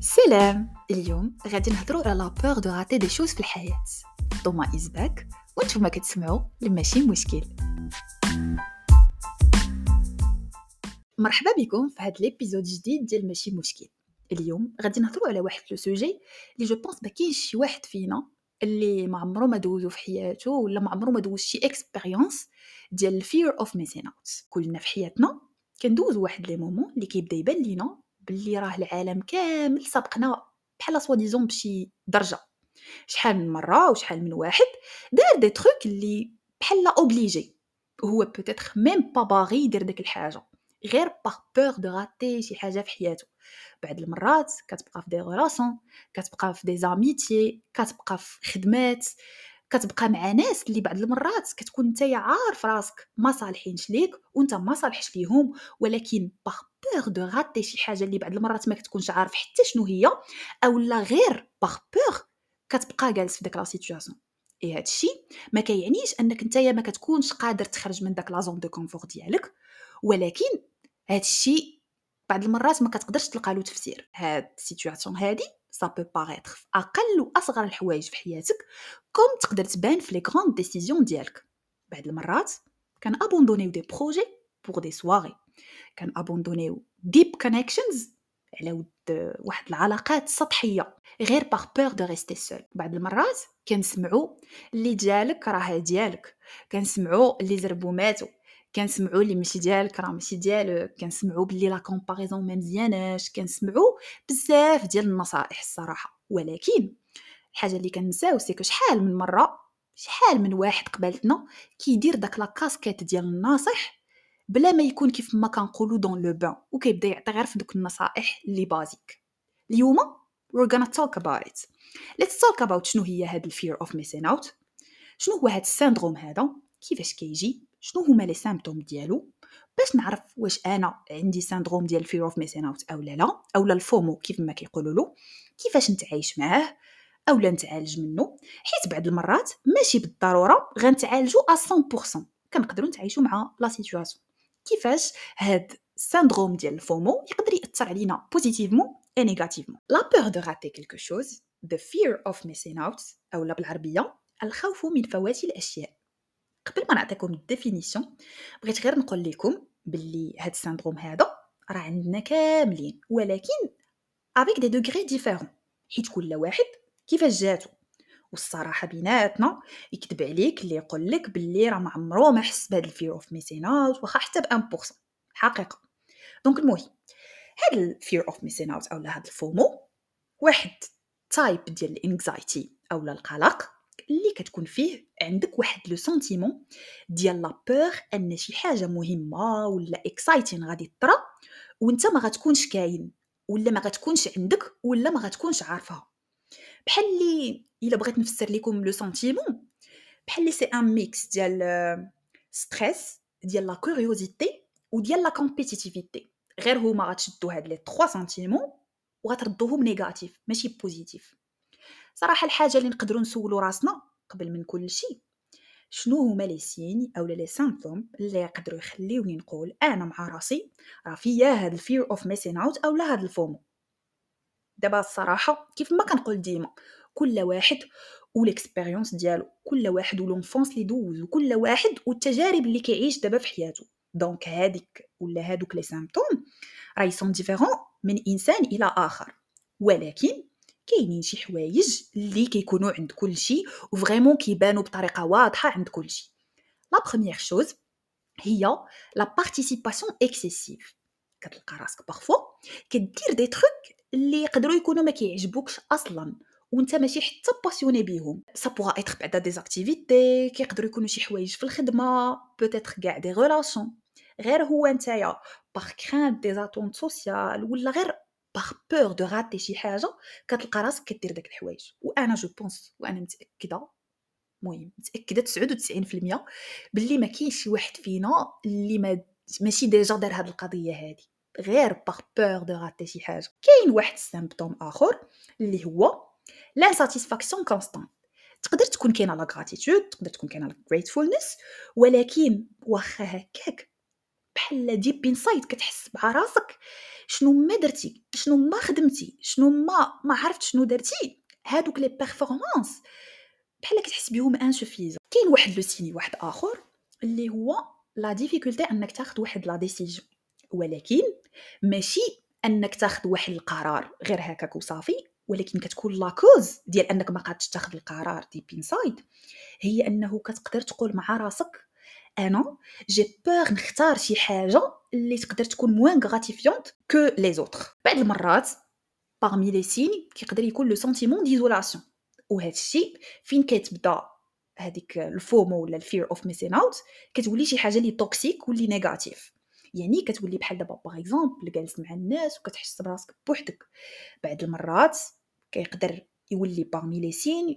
سلام. اليوم غادي نهضروا على peur de rater des choses في الحياة. ضما إزباك وانتم كتسمعوا لماشي مشكل. مرحبا بكم في هذا الابيزود جديد ديال ماشي مشكل. اليوم غادي نهضروا على واحد لو سوجي اللي جو بونس ما كاينش شي واحد فينا اللي ما عمره ما دوزو في حياته ولا ما عمره ما دوز شي اكسبيريونس ديال fear of missing out. كلنا في حياتنا كندوزو واحد لي مومون اللي كيبدا يبان لينا باللي راه العالم كامل سبقنا بحال سوا ديزون بشي درجه. شحال من مره وشحال من واحد دار دي تروك اللي بحال اوبليجي وهو بوتيتر ميم با باغي يدير ديك الحاجه غير باغ بور دو راتي شي حاجه في حياته. بعض المرات كتبقى في دي غولاسيون، كتبقى في دي زاميتي، كتبقى في خدمات، كتبقى مع ناس اللي بعض المرات كتكون نتايا عارف راسك ما صالحينش ليك وانت ما صالحش ليهم، ولكن باغ بور دو راتي شي حاجه اللي بعض المرات ما كتكونش عارف حتى شنو هي، اولا غير باغ بور كتبقى جالس في داك لا سيتوياسيون. اي هادشي ما كيعنيش انك نتايا ما كتكونش قادر تخرج من داك لا زون دو كونفور ديالك، ولكن هادشي بعض المرات ما كتقدرش تلقى له تفسير. هاد السيتوياسيون هادي سا بو باغيتر في اقل واصغر الحوايج في حياتك كوم تقدر تبان في لي غراند ديسيزيون ديالك. بعض المرات كان ابوندونيو دي بروجي بور دي سواري، كان ابوندونيو ديب كونيكشنز على ود واحد العلاقات سطحيه غير باغ بور دو ريستي سول. بعض المرات كنسمعوا اللي ديالك راه ديالك، كنسمعوا اللي زربوا ماتوا، كنسمعوا اللي ماشي ديالك راه ماشي ديالك، كنسمعوا باللي لا كومباريزون ما مزياناش، كنسمعوا بزاف ديال النصائح الصراحه. ولكن الحاجه اللي كنساو سي كو شحال من مره شحال من واحد قبلتنا كيدير داك لا كاسكيت ديال الناصح بلا ما يكون كيف ما كنقولوا دون لو بان وكيبدا يعطي غير في دوك النصائح اللي بازيك. اليوم we're gonna talk about it. let's talk about شنو هي هاد الفير اوف ميسين اوت، شنو هو هاد السيندروم هذا، كيفاش كيجي، شنو هما لي سيمبتوم ديالو، باش نعرف واش انا عندي سيندروم ديال الفير اوف ميسين اوت اولا لا، اولا الفومو كيف ما كيقولوا له، كيفاش نتعايش معاه اولا نتعالج منه. حيت بعض المرات ماشي بالضروره غنتعالجوا 100%، كنقدروا نتعايشوا مع لا سيتوياسيون. كيفاش هاد السيندروم ديال الفومو يقدر ياثر علينا بوزيتيفمون اي نيجاتيفمون. لا بور دو راتي كيلكو شوز، the fear of missing out اولا بالعربيه الخوف من فوات الاشياء. قبل ما نعطيكم الديفينيسيون بغيت غير نقول لكم باللي هاد السيندروم هذا راه عندنا كاملين، ولكن avec des degrés différents، حيت كل واحد كيفاش جاتو. والصراحه بيناتنا يكذب عليك اللي يقول لك باللي راه ما عمره ما حس بهذا الفير اوف ميسين اوت واخا حتى ب 1% حقيقه. دونك المهم هذا الفير اوف ميسين اوت اولا هذا الفومو واحد تايب ديال الانكزايتي اولا القلق اللي كتكون فيه عندك واحد لو سنتيمون ديال لا بور ان شي حاجه مهمه ولا اكسايتين غادي طرا وانت ما غتكونش كاين ولا ما غتكونش عندك ولا ما غتكونش عارفها. بحال اللي الا بغيت نفسر لكم لو سنتيمون بحال اللي سي ان ميكس ديال ستريس ديال لا كوريوزيتي وديال لا كومبيتيتيفيتي، غير هما غتشدوا هاد لي 3 سنتيمون وغتردوهم نيجاتيف ماشي بوزيتيف. صراحه الحاجه اللي نقدروا نسولوا راسنا قبل من كل شيء شنو هما لي سين اولا لي سيمبتوم اللي يقدروا يخليوني نقول انا مع راسي راه فيا هاد الفير اوف ميسين اوت اولا هاد الفومو. دابا الصراحه كيف ما كنقول ديما كل واحد والاكسبيريونس ديالو، كل واحد ولونفونس اللي دوز، وكل واحد والتجارب اللي كيعيش دابا في حياته. دونك هذيك ولا هادوك لي سيمبتوم راهي سون ديفيرون من انسان الى اخر، ولكن كاينين شي حوايج اللي كيكونوا عند كل شيء وفريمون كيبانوا بطريقه واضحه عند كل شيء. لا بروميير شوز هي لا بارتيسيباسيون اكسيسيف. كتلقى راسك بارفو كدير دي تروك اللي يقدروا يكونوا ما كيعجبوكش اصلا وانت ماشي حتى باسيوني بيهم. سا بوغا ايتر بعدا دي اكتيفيتي، كيقدروا يكونوا شي حوايج في الخدمه، بوتيتر كاع دي ريلاسيون، غير هو نتايا باغ كرانت دي اتونت سوسيال ولا غير باغ بور دو راتي شي حاجه كتلقى راسك كدير داك الحوايج. وانا جو بونس وانا متاكده، المهم متاكده 99% باللي ما كاينش شي واحد فينا اللي ماشي ديجا دار هاد القضيه هادي غير باغ بور دو راتي شي حاجه. كاين واحد السيمبتوم اخر اللي هو لانساتيسفاكسيون كونستانت. تقدر تكون كاينه لا غراتيتود، تقدر تكون كاينه لا غريتفولنس، ولكن واخا هكاك بحال deep inside كتحس مع راسك شنو ما درتي، شنو ما خدمتي، شنو ما عرفت شنو درتي، هادوك لي performance بحال كتحس بهم insuffisant. كاين واحد لو سيني واحد آخر اللي هو لا difficulté أنك تاخد واحد لا décision، ولكن ماشي أنك تاخد واحد القرار غير هكاك وصافي، ولكن كتكون لا كوز ديال أنك ما قادش تاخد القرار deep inside هي أنه كتقدر تقول مع راسك أنا j'ai peur نختار شي حاجة اللي تقدر تكون moins gratifiante que les autres. بعض المرات parmi les signes كيقدر يكون le sentiment d'isolation، وهذا الشيء فين كتبدا هذيك الفومو ولا الفير اوف ميسين اوت كتولي شي حاجه اللي توكسيك واللي نيجاتيف. يعني كتولي بحال دابا باغ اكزومبل جالس مع الناس وكتحس براسك بوحدك. بعض المرات كيقدر يولي parmi les signes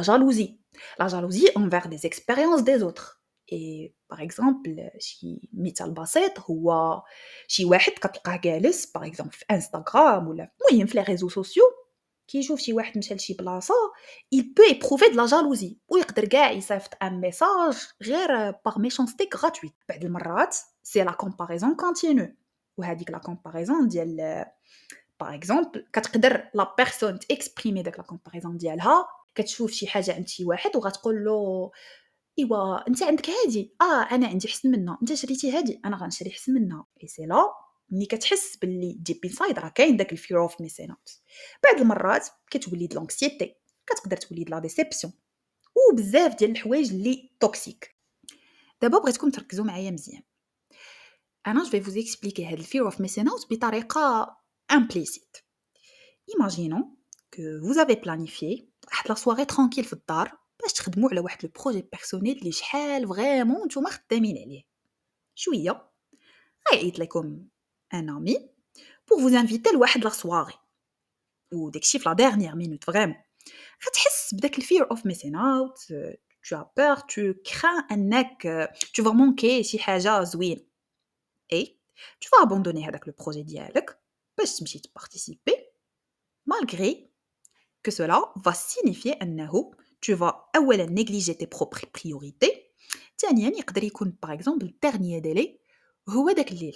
la jalousie envers des expériences des autres. et par exemple شي مثال بسيط هو شي واحد كتلقاه جالس باغ اكزومبل في انستغرام ولا المهم في لي ريزو سوسيو كيشوف شي واحد مشى لشي بلاصه il peut éprouver de la jalousie ويقدر كاع يصيفط ان ميساج غير باغ ميشانستي غراتويت. بعض المرات سي لا كومباريزون كونتينيو، وهذيك لا كومباريزون ديال باغ اكزومبل كتقدر لا بيرسون تاكسبريمي داك لا كومباريزون ديالها، كتشوف شي حاجه عند شي واحد وغتقول له ايوا انت عندك هادي انا عندي حسن منها، انت شريتي هادي انا غنشري حسن منها. اي سي لا ملي كتحس باللي ديب انسايد راه كاين داك الفير اوف ميسين اوت. بعض المرات كتولي لونكسيتي، كتقدر تولي لا ديسيبسيون وبزاف ديال الحوايج اللي توكسيك. دابا بغيتكم تركزوا معايا مزيان. انا جو في فوز اكسبليكي هاد الفير اوف ميسين اوت بطريقه امبليسيت. Imaginons que vous avez planifié واحد لا سواري ترانكيل في الدار باش تخدموا على واحد لو بروجي بيرسونيل اللي شحال فريمون نتوما خدامين عليه. شويه غيعيط لكم ان امي pour vous inviter لواحد لا سواري وداكشي في لا ديرنيير مينوت فريمون. غتحس بداك الفير اوف ميسين اوت، tu as peur, tu crains انك tu vas manquer شي حاجه زوين اي tu vas abandonner هذاك لو بروجي ديالك باش تمشي تبارتيسيبي malgré que cela va signifier أنه tu vas أولا négliger tes propres priorités، ثانيا يقدر يكون par exemple dernier délai هو داك الليلة.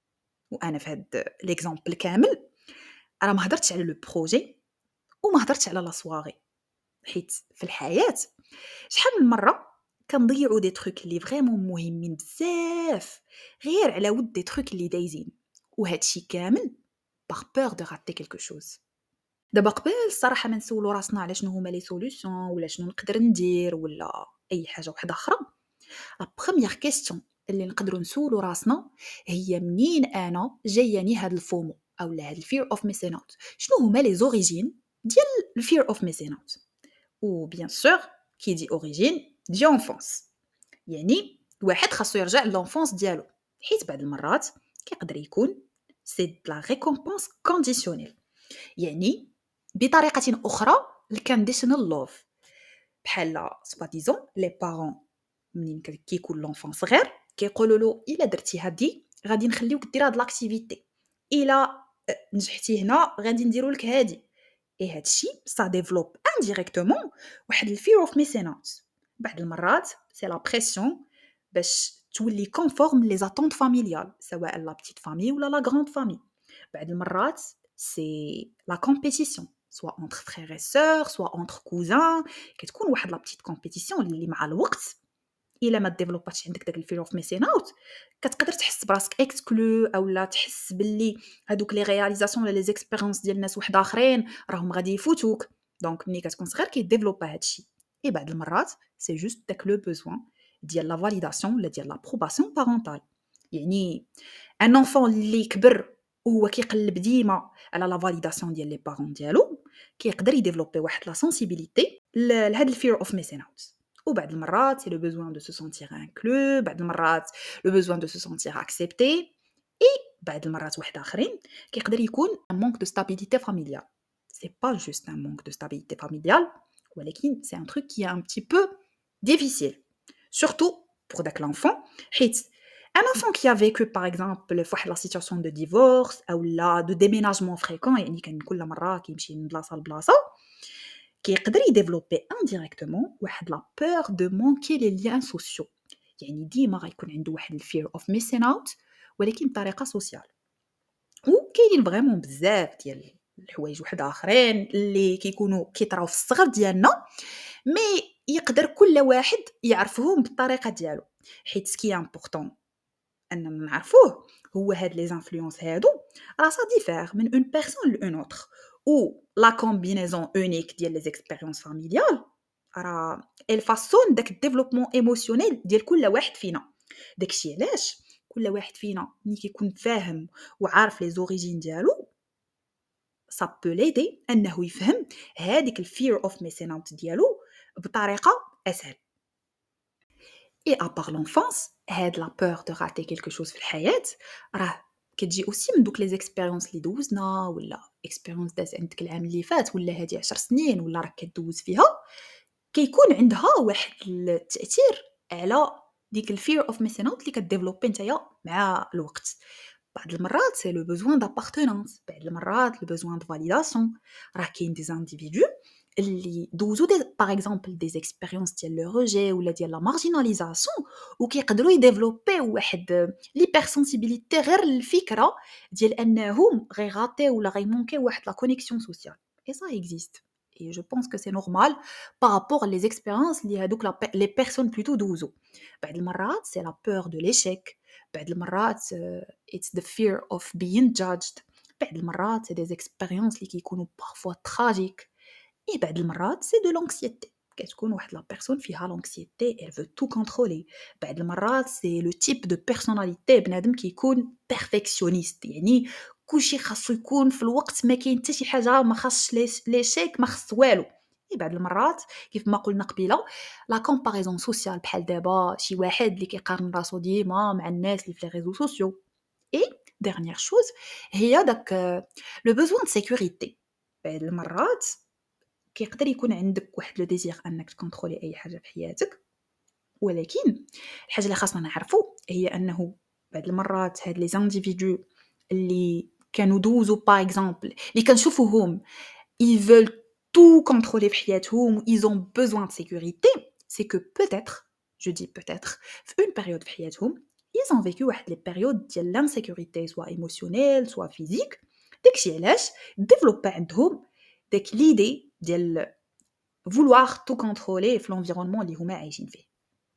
وأنا في هاد l'exemple كامل راه ما هضرتش على لو بروجي وما هضرتش على لا سواري، حيت في الحياة شحال من مرة كنضيعوا دي تروك اللي فريمون مهمين بزاف غير على ود دي تروك اللي دايزين، وهادشي كامل par peur de rater quelque chose. دابا قبل الصراحه ما نسولو راسنا على شنو هما لي سوليوشن ولا شنو نقدر ندير ولا اي حاجه واحده اخرى، لا بروميير كيسيون اللي نقدروا نسولو راسنا هي منين انا جاياني هاد الفومو او هاد الفير اوف ميسين اوت، شنو هما لي زوريجين ديال الفير اوف ميسين اوت. و بيان سور كي دي اوريجين دي انفونس، يعني الواحد خاصو يرجع لونفونس ديالو، حيت بعض المرات كيقدر يكون سي لا ريكومبونس كونديسيونيل، يعني بطريقة أخرى الكانديشنال لوف. بحال سوا ديزون لي بارون منين كيكون لونفون صغير كيقولوا له الا درتي هادي غادي نخليوك دير هاد لاكتيفيتي، الا نجحتي هنا غادي نديروا لك هادي. اي هادشي سا ديفلوب انديريكتومون واحد الفير اوف ميسين اوت. بعض المرات سي لا بريسيون باش تولي كونفورم لي زاتونت فاميليال سواء لا بتيت فامي ولا لا غراند فامي. بعض المرات سي لا كومبيتيسيون soit entre frères et sœurs soit entre cousins، كتكون واحد لا بتيت كومبيتيسيون اللي مع الوقت الا ما ديفلوباتش عندك داك الفير اوف ميسين اوت كتقدر تحس براسك اكسكلو اولا تحس باللي هادوك لي رياليزاسيون ولا لي زيكسبيريونس ديال ناس واحد اخرين راهم غادي يفوتوك. دونك ملي كتكون صغير كيديفلوبا هادشي. اي بعض المرات سي جوست داك لو بوزوان ديال لا فاليداسيون ولا ديال لابروباسيون بارونتال، يعني ان انفون اللي كبر وهو كيقلب ديما على لا فاليداسيون ديال لي بارون ديالو كيقدر يديفلوبي واحد لا سنسيبيليتي لهاد الفير اوف ميسين اوت. وبعض المرات سي لو بوزوان دو سو سونتير انكلو، بعض المرات لو بوزوان دو سو سونتير اكسبتي، اي بعض المرات واحد اخرين كيقدر يكون ان مونك دو ستابيليتي فاميليال. سي با جوست ان مونك دو ستابيليتي فاميليال ولكن سي ان تروك كي ان بتي بو ديفيسيل surtout pour داك l'enfant حيت un enfant qui a vécu par exemple فواحد la situation de divorce ou là de déménagement fréquent يعني كان كل مرة كيمشي من بلاصة لبلاصة كيقدر يديفلوبي indirectement واحد la peur de manquer les liens sociaux، يعني ديما غيكون عنده واحد الفير اوف missing out ولكن بطريقة social. وكاينين فريمون بزاف ديال الحوايج وحداخرين اللي كيكونوا كيطراو في الصغر ديالنا، مي يقدر كل واحد يعرفهم بالطريقة ديالو، حيت سكي امبورطون أننا نعرفوه هو هاد لي زانفلونس هادو راه سا ديفير من اون بيرسون لأون اوتر، و لا كومبينيزون اونيك ديال لي زيكسبيريونس فاميليال راه الفاسون داك الديفلوبمون ايموشنيل ديال كل واحد فينا. داكشي علاش كل واحد فينا ملي كيكون فاهم وعارف لي زوريجين ديالو ça peut l'aider أنه يفهم هذيك الفير اوف ميسين اوت ديالو بطريقة أسهل. Et à part l'enfance, هاد لا peur de rater quelque chose في الحياة راه كتجي aussi من دوك لي زيكسبيريونس اللي دوزنا، ولا اكسبيريونس دازت عندك العام اللي فات ولا هادي 10 سنين ولا راك كدوز فيها، كيكون عندها واحد التأثير على ديك الفير اوف ميسين اوت اللي كديفلوبي نتايا مع الوقت. بعض المرات سي لو بوزوان دابارتونانس، بعض المرات لو بوزوان دو فاليداسيون. راه كاين دي زانديفيدو اللي دوزو دي باغ اكزومبل دي زيكسبيريونس ديال لو روجي ولا ديال لا مارجيناليزاسيون، وكيقدروا يديفلوبي واحد ليبر سونسيبيليتي غير الفكره ديال انهم غيغاطي ولا غيمونكي واحد لا كونيكسيون سوسيال. اي سا اكزيست et je pense que c'est normal par rapport les expériences اللي هادوك les personnes plutôt دوزو. بعض المرات c'est la peur de l'échec، بعض المرات it's the fear of being judged، بعض المرات c'est des expériences اللي كيكونوا parfois tragiques، et بعض المرات c'est de l'anxiété، كتكون واحد لا بيرسون فيها l'anxiété elle veut tout contrôler. بعض المرات c'est le type de personnalité بنادم كيكون perfectionniste، يعني كلشي خاصو يكون في الوقت، ما كاين حتى شي حاجه ما خاصش ليشيك، ما خص والو. اي بعض المرات كيف ما قلنا قبيله لا كومباريزون سوسيال، بحال دابا شي واحد اللي كيقارن راسو ديما مع الناس اللي في لي ريزو سوسيو. اي dernière chose هي داك لو بوزوان دو سيكوريتي. بعض المرات كيقدر يكون عندك واحد لو ديزير انك تكونترولي اي حاجه في حياتك، ولكن الحاجه اللي خاصنا نعرفو هي انه بعض المرات هاد لي زانديفيدو اللي كانوا دوزو باغ اكزومبل اللي كنشوفوهم ils veulent tout contrôler في حياتهم، ils ont besoin de sécurité. C'est que peut-être, je dis peut-être, في une période في حياتهم ils ont vécu واحد les périodes ديال l'insécurité soit émotionnelle soit physique. داكشي علاش développer عندهم داك l'idée ديال vouloir tout contrôler في l'environnement اللي هما عايشين فيه.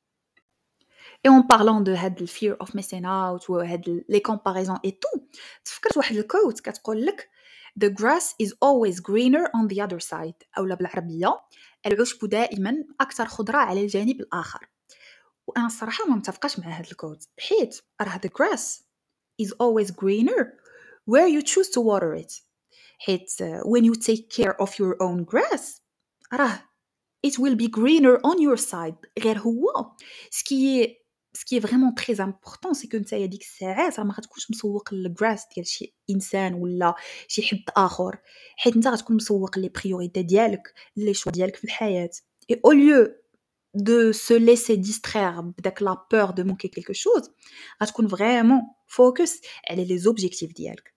Et en parlant de هاد ال fear of missing out وهاد les comparaisons et tout، تفكرت واحد الquote كتقول لك the grass is always greener on the other side، أولا بالعربية العشب دائما أكثر خضرة على الجانب الآخر. وأنا الصراحة ما متفقاش مع هاد الquote، حيت راه the grass is always greener where you choose to water it. حيت when you take care of your own grass راه it will be greener on your side. غير هو ce qui est vraiment très important c'est que نتايا ديك الساعات راه ما غتكونش مسوق للغراس ديال شي انسان ولا شي حد اخر، حيت انت غتكون مسوق لي بريوريتي ديالك، لي شوا ديالك في الحياه. et au lieu de se laisser distraire بداك la peur de manquer quelque chose، غتكون vraiment focus على les objectifs ديالك.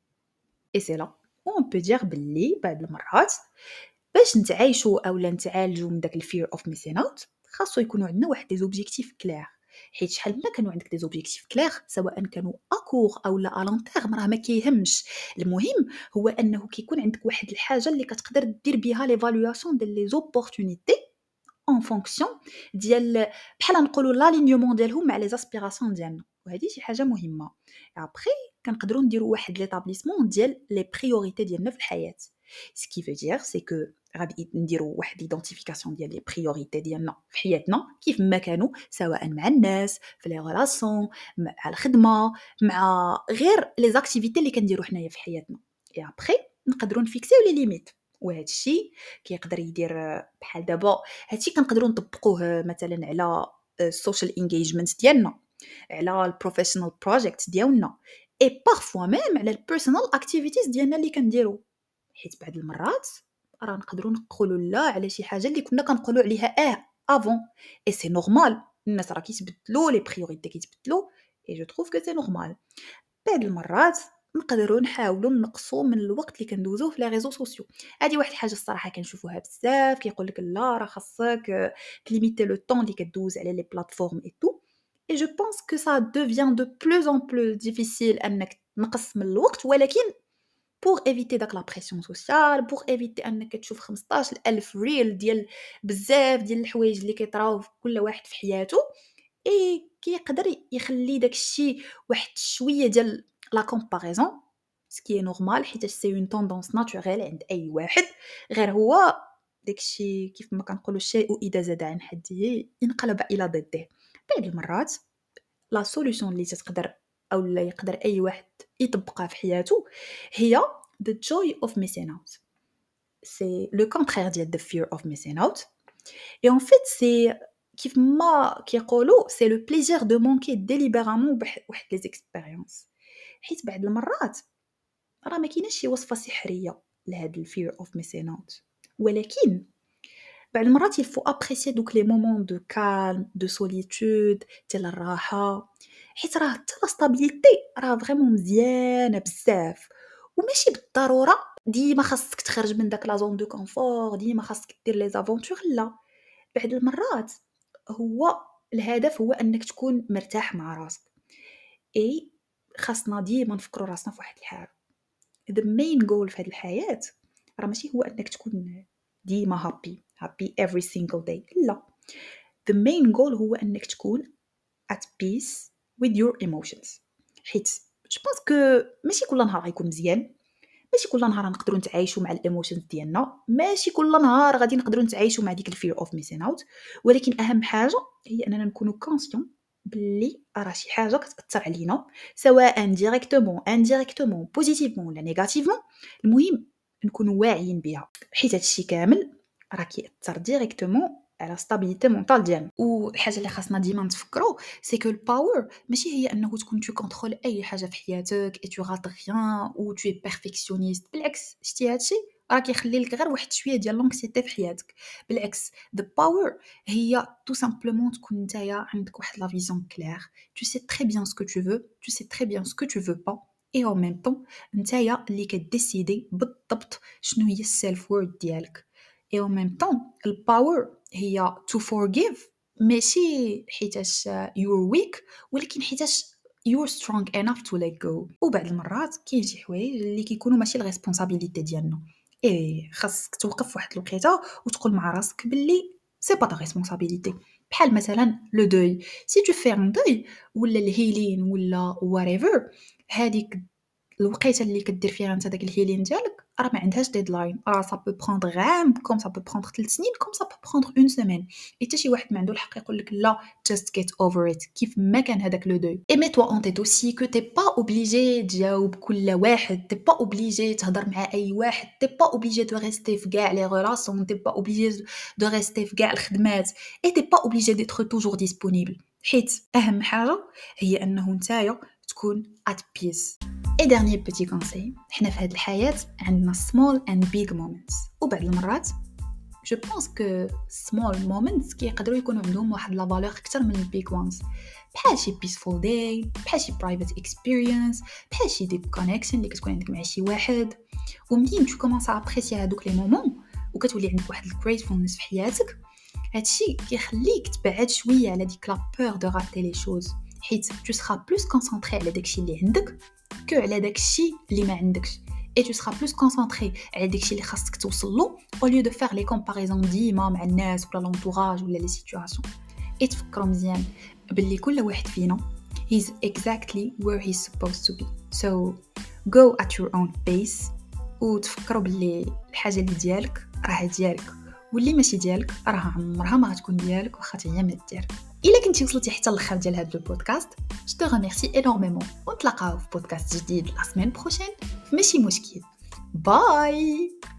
et c'est là où on peut dire باللي بعض المرات باش نتعايشوا اولا نتعالجوا من داك الفير اوف ميسين اوت خاصو يكونوا عندنا واحد دي زوبجيكتيف كلير. حيت شحال ما كانوا عندك دي زوبجيكتيف كلير سواء كانوا اكور او لا الون تيرم راه ما كيهمش، المهم هو انه كيكون عندك واحد الحاجه اللي كتقدر دير بها ليفالواسيون ديال لي زوبورتونيتي en fonction ديال بحال نقولوا لالينيومون ديالهم مع لي اسبيراسيون ديالنا، وهذه شي حاجه مهمه. ابري كنقدروا نديروا واحد ليطابليسمون ديال لي بريوريتي ديالنا في الحياه. سكي فو دير سي كو غادي نديروا واحد ايدنتيفيكاسيون ديال لي بريوريتي ديالنا في حياتنا كيف ما كانوا، سواء مع الناس في لي ريلاسيون مع الخدمه مع غير لي زاكتيفيتي اللي كنديروا حنايا في حياتنا. اي ابري نقدروا نفيكسيو لي ليميت، وهذا الشيء كيقدر يدير بحال دابا هادشي كنقدروا نطبقوه مثلا على السوشيال انجيجمنت ديالنا، على البروفيشنال بروجيكت ديالنا، اي بارفوا ميم على البيرسونال اكتيفيتيز ديالنا اللي كنديرو. حيت بعض المرات راه نقدروا نقولوا لا على شي حاجه اللي كنا كنقولوا عليها افون، اي سي نورمال. الناس راه كيتبدلوا، لي بريوريتي كيتبدلوا، اي جو تروف كو سي نورمال. بعض المرات نقدروا نحاولوا نقصوا من الوقت اللي كندوزوه في لي ريزو سوسيو. هذه واحد الحاجه الصراحه كنشوفوها بزاف، كيقول لك لا راه خاصك تليميتي لو طون اللي كدوز على لي بلاتفورم اي تو. et je pense que ça devient de plus en plus difficile أنك تنقص من الوقت ولكن pour éviter داك la pression sociale pour éviter أنك تشوف 15,000 ريل ديال بزاف ديال الحوايج اللي كيطراو في كل واحد في حياته اي كيقدر يخلي داك الشيء واحد شويه ديال لا كومباريزون سكي نورمال حيت سي اون توندونس ناتوريل عند اي واحد غير هو داك الشيء كيف ما كنقولوا الشيء اذا زاد عن حده انقلب الى ضده. بعض المرات لا سوليوشن اللي تقدر او لا يقدر اي واحد يطبقها في حياته هي the joy of missing out. c'est le contraire ديال the fear of missing out et en fait c'est كيف ما كيقولوا c'est le plaisir de manquer délibérément واحد les expériences. حيت بعض المرات راه ما كايناش شي وصفه سحريه لهاد الفير اوف ميسين اوت ولكن بعض المرات il faut apprécier دوك لي مومون دو كالم دو سوليتود ديال الراحه حيت راه حتى لا ستابيليتي راه فريمون مزيانه بزاف وماشي بالضروره ديما خاصك تخرج من داك لا زون دو كونفور ديما خاصك دير لي زافونتور لا بعض المرات هو الهدف هو انك تكون مرتاح مع راسك اي خاصنا ديما نفكروا راسنا في واحد الحاجه the main goal في هذه الحياه راه ماشي هو انك تكون ديما happy every single day لا the main goal هو انك تكون at peace with your emotions حيت جو بونس كو ماشي كل نهار غيكون مزيان ماشي كل نهار نقدروا نتعايشوا مع الايموشنز ديالنا ماشي كل نهار غادي نقدروا نتعايشوا مع ديك الفير اوف ميسين اوت ولكن اهم حاجه هي اننا نكونوا كونسيون باللي راه شي حاجه كتاثر علينا سواء ديريكتومون انديريكتومون بوزيتيفمون ولا نيجاتيفمون المهم نكونوا واعيين بها حيت هادشي كامل راه كيأثر ديريكتومون على ستابيليتي مونطال ديالنا. والحاجه اللي خاصنا ديما نتفكروا سي كو الباور ماشي هي انه تكون تو كونترول اي حاجه في حياتك اي تو غات ريان او تو اي بيرفكسيونيست بالعكس شتي هادشي راه كيخلي لك غير واحد شويه ديال لونكسيتي في حياتك بالعكس the power هي tout simplement تكون نتايا عندك واحد لا فيزيون كلير tu sais très bien ce que tu veux tu sais très bien ce que tu veux pas et en même temps نتايا اللي كديسيدي بالضبط شنو هي السيلف وورد ديالك et en même temps الباور هي to forgive ماشي حيتاش you're weak ولكن حيتاش you're strong enough to let go. وبعض المرات كاين شي حوايج اللي كيكونوا ماشي الريسبونسابيلتي ديالنا ايه خاصك توقف واحد الوقيته وتقول مع راسك باللي سي با تا ريسبونسابيلتي بحال مثلا لو دوي سي تو في ان دوي ولا الهيلين ولا whatever هذيك الوقيته اللي كدير فيها انت داك الهيلين ديالك راه ما عندهاش ديدلاين راه سا بو بروندر عام كوم سا بو بروندر 3 سنين كوم سا بو بروندر اون سيمين حتى شي واحد ما عنده الحق يقول لك لا just get over it كيف ما كان هذاك لو دوي اي مي توا اون تيت اوسي كو تي با اوبليجي تجاوب كل واحد تي با اوبليجي تهضر مع اي واحد تي با اوبليجي دو ريستي في كاع لي ريلاسيون تي با اوبليجي دو ريستي في كاع الخدمات اي تي با اوبليجي ديتر توجور ديسپونيبل حيت اهم حاجه هي انه نتايا تكون at peace. Et dernier petit conseil, حنا في هاد الحياة عندنا small and big moments وبعض المرات je pense que small moments كيقدروا يكونوا عندهم واحد لا فالور اكثر من big ones بحال شي peaceful day بحال شي private experience بحال شي deep connection اللي كتكون عندك مع شي واحد ومنين tu commences à apprécier هادوك لي مومون وكتولي عندك واحد gratefulness في حياتك هادشي كيخليك تبعد شويه على ديك لا peur de rater les choses حيت tu seras plus concentré على داكشي اللي عندك كو على داكشي اللي ما عندكش et tu seras plus concentré على داكشي اللي خاصك توصل له au lieu de faire les comparaisons ديما مع الناس ولا l'entourage ولا les situations. et تفكروا مزيان باللي كل واحد فينا he's exactly where he's supposed to be so go at your own pace وتفكروا باللي الحاجه اللي ديالك راه ديالك واللي ماشي ديالك راه عمرها ما غتكون ديالك واخا هي ما دير. إلا كنتي وصلتي حتى الاخر ديال هذا البودكاست je te remercie énormément ونتلاقاو في بودكاست جديد لا سيمين بروشين في ماشي مشكل باي.